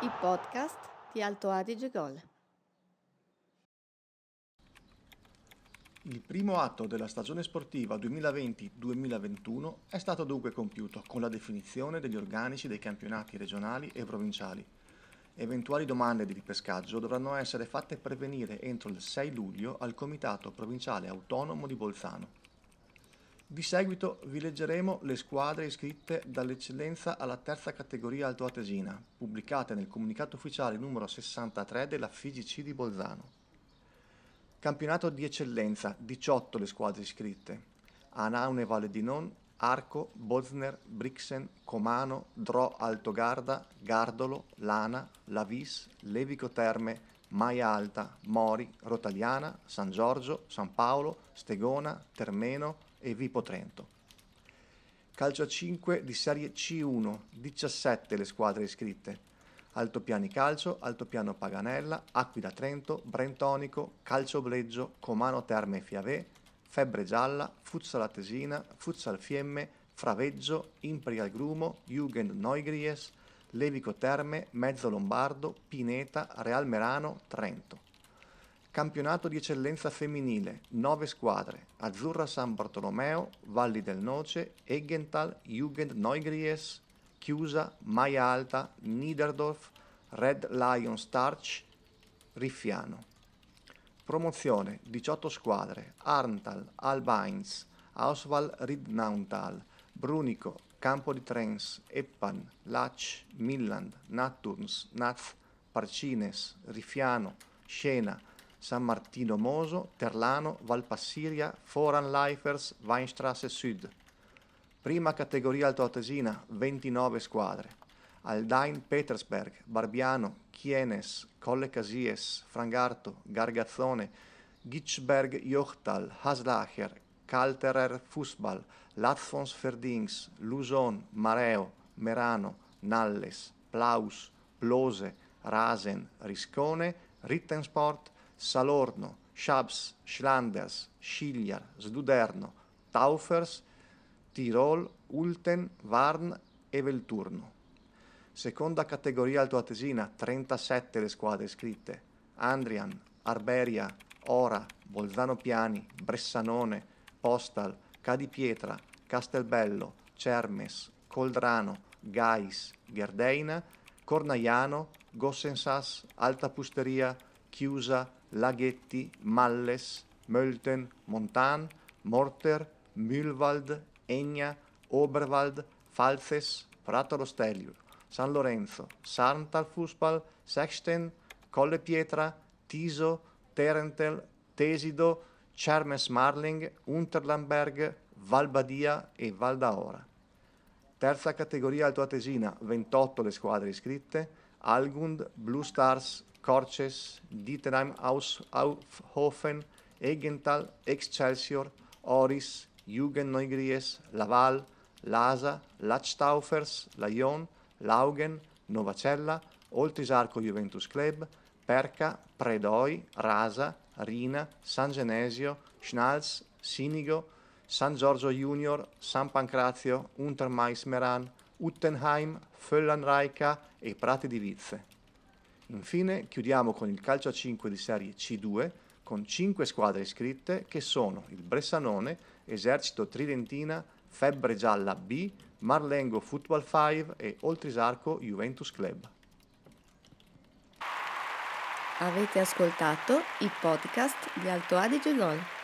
I podcast di Alto Adige Gol. Il primo atto della stagione sportiva 2020-2021 è stato dunque compiuto con la definizione degli organici dei campionati regionali e provinciali. Eventuali domande di ripescaggio dovranno essere fatte pervenire entro il 6 luglio al Comitato Provinciale Autonomo di Bolzano. Di seguito vi leggeremo le squadre iscritte dall'eccellenza alla terza categoria altoatesina, pubblicate nel comunicato ufficiale numero 63 della FIGC di Bolzano. Campionato di eccellenza, 18 le squadre iscritte. Anaune Valle di Non, Arco, Bosner, Brixen, Comano, Dro Altogarda, Gardolo, Lana, Lavis, Levico Terme, Maia Alta, Mori, Rotagliana, San Giorgio, San Paolo, Stegona, Termeno e Vipo Trento. Calcio a 5 di serie C1, 17 le squadre iscritte. Altopiani Calcio, Altopiano Paganella, Aquila Trento, Brentonico, Calcio Bleggio, Comano Terme Fiavè, Febbre Gialla, Futsal Atesina, Futsal Fiemme, Fraveggio, Imperial Grumo, Jugend Neugries, Levico Terme, Mezzo Lombardo, Pineta, Real Merano, Trento. Campionato di eccellenza femminile, 9 squadre, Azzurra San Bartolomeo, Valli del Noce, Eggenthal, Jugend Neugries, Chiusa, Maia Alta, Niederdorf, Red Lion Starch, Riffiano. Promozione, 18 squadre, Arntal, Albains, Auswahl Ridnauntal, Brunico, Campo di Trens, Eppan, Lach, Milland, Natturns, Naz, Parcines, Riffiano, Scena, San Martino Moso, Terlano, Valpassiria, Foran Lifers, Weinstrasse Sud. Prima categoria altoatesina, 29 squadre. Aldain Petersberg, Barbiano, Chienes, Colle Casies, Frangarto, Gargazzone, Gitschberg Jochtal, Haslacher, Kalterer Fußball, Latzfons Verdings, Luson, Mareo, Merano, Nalles, Plaus, Blose, Rasen, Riscone, Rittensport, Salorno, Schabs, Schlanders, Schigliar, Sluderno, Taufers, Tirol, Ulten, Varn e Velturno. Seconda categoria altoatesina, 37 le squadre iscritte. Andrian, Arberia, Ora, Bolzano Piani, Bressanone, Postal, Cadipietra, Castelbello, Cermes, Coldrano, Gais, Gherdeina, Cornaiano, Gossensas, Alta Pusteria, Chiusa, Laghetti, Malles, Mölten, Montan, Morter, Mühlwald, Egna, Oberwald, Falzes, Prato allo Stelvio, San Lorenzo, Sarntal Fußball, Sexten, Colle Pietra, Tiso, Terentel, Tesido, Cermes Marling, Unterlamberg, Valbadia e Val d'Aora. Terza categoria altoatesina, 28 le squadre iscritte, Algund, Blue Stars, Corces, Dietenheim Aushofen, Eggenthal, Excelsior, Oris, Jugend Neugries, Laval, Lasa, Lachtaufers, Lyon, Laugen, Novacella, Oltrisarco Juventus Club, Perca, Predoi, Rasa, Rina, San Genesio, Schnalz, Sinigo, San Giorgio Junior, San Pancrazio, Untermais Meran, Uttenheim, Föllenreica e Prati di Vizze. Infine chiudiamo con il calcio a 5 di serie C2 con 5 squadre iscritte che sono il Bressanone, Esercito Tridentina, Febbre Gialla B, Marlengo Football 5 e Oltrisarco Juventus Club. Avete ascoltato i podcast di Alto Adige Gol.